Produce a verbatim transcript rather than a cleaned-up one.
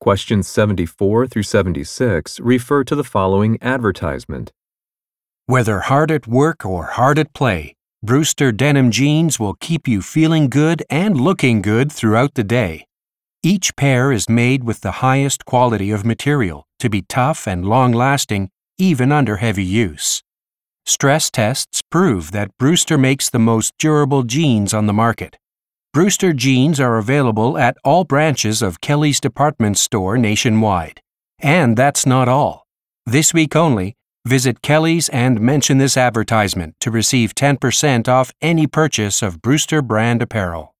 Questions seventy-four through seventy-six refer to the following advertisement. Whether hard at work or hard at play, Brewster denim jeans will keep you feeling good and looking good throughout the day. Each pair is made with the highest quality of material to be tough and long-lasting even under heavy use. Stress tests prove that Brewster makes the most durable jeans on the market. Brewster jeans are available at all branches of Kelly's department store nationwide. And that's not all. This week only, visit Kelly's and mention this advertisement to receive ten percent off any purchase of Brewster brand apparel.